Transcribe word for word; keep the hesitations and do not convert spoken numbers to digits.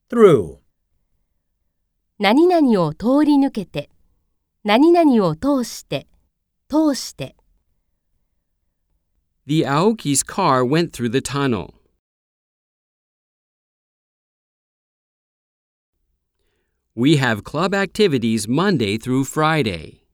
through. 何々を通り抜けて、何々を通して、通して。 The Aoki's car went through the tunnel. We have club activities Monday through Friday.